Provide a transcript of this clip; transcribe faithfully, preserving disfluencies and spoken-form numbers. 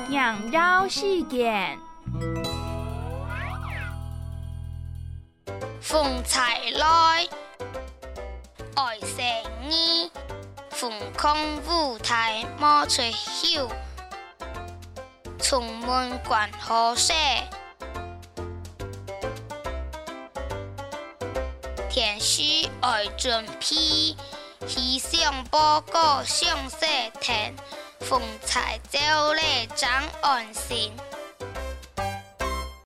羊绕世间。 风采来，爱生意，风空舞台莫吹休，充满关好色。天时爱准备，气象报告上色天，风采照例长安心。